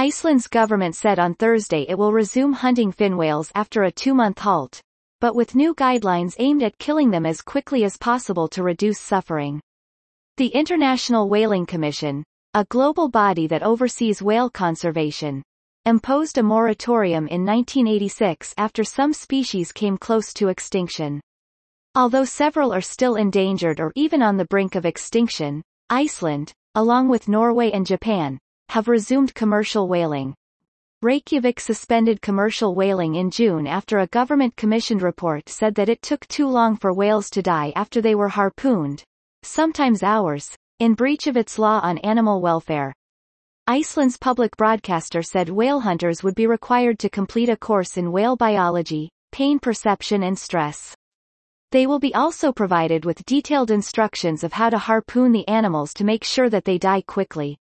Iceland's government said on Thursday it will resume hunting fin whales after a 2-month halt, but with new guidelines aimed at killing them as quickly as possible to reduce suffering. The International Whaling Commission, a global body that oversees whale conservation, imposed a moratorium in 1986 after some species came close to extinction. Although several are still endangered or even on the brink of extinction, Iceland, along with Norway and Japan, have resumed commercial whaling. Reykjavik suspended commercial whaling in June after a government-commissioned report said that it took too long for whales to die after they were harpooned, sometimes hours, in breach of its law on animal welfare. Iceland's public broadcaster said whale hunters would be required to complete a course in whale biology, pain perception and stress. They will be also provided with detailed instructions of how to harpoon the animals to make sure that they die quickly.